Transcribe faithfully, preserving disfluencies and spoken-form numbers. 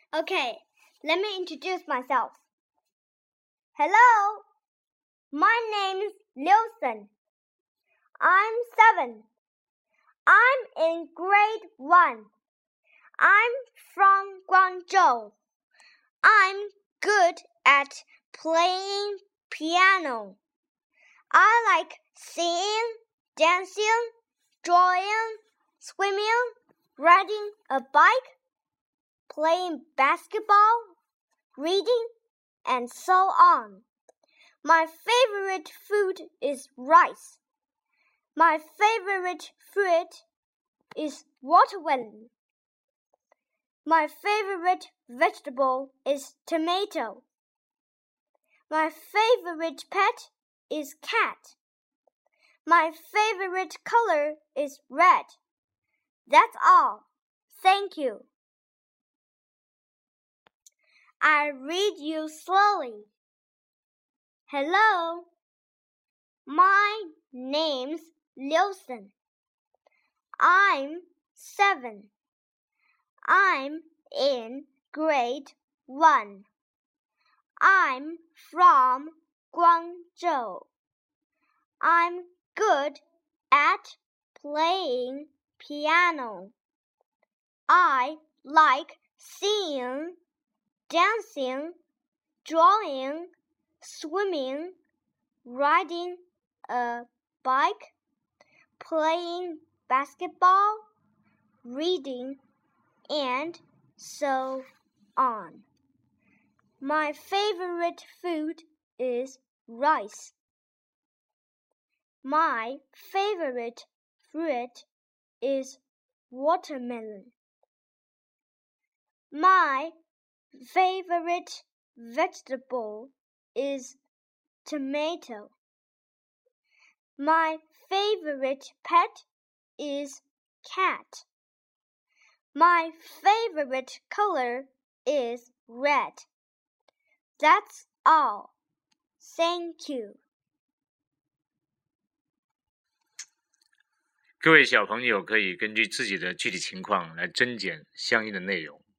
Okay, let me introduce myself. Hello, my name is Liusen. I'm seven. I'm in grade one. I'm from Guangzhou. I'm good at playing piano. I like singing, dancing, drawing, swimming, riding a bike, playing basketball, reading, and so on. My favorite food is rice. My favorite fruit is watermelon. My favorite vegetable is tomato. My favorite pet is cat. My favorite color is red. That's all. Thank you. I read you slowly. Hello, my name's Liusen. I'm seven. I'm in grade one. I'm from Guangzhou. I'm good at playing piano. I like singing, dancing, drawing, swimming, riding a bike, playing basketball, reading, and so on. My favorite food is rice. My favorite fruit is watermelon. My favorite vegetable is tomato. My favorite pet is cat. My favorite color is red. That's all. Thank you. 各位小朋友可以根据自己的具体情况来增减相应的内容。